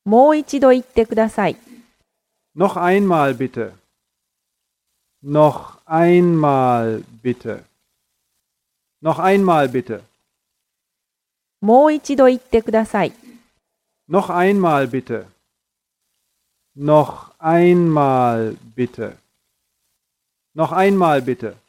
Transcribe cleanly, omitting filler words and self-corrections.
もう一度言ってください。 Noch einmal bitte. Noch einmal bitte. Noch einmal bitte. もう一度言ってください。 Noch einmal bitte. Noch einmal bitte. Noch einmal bitte.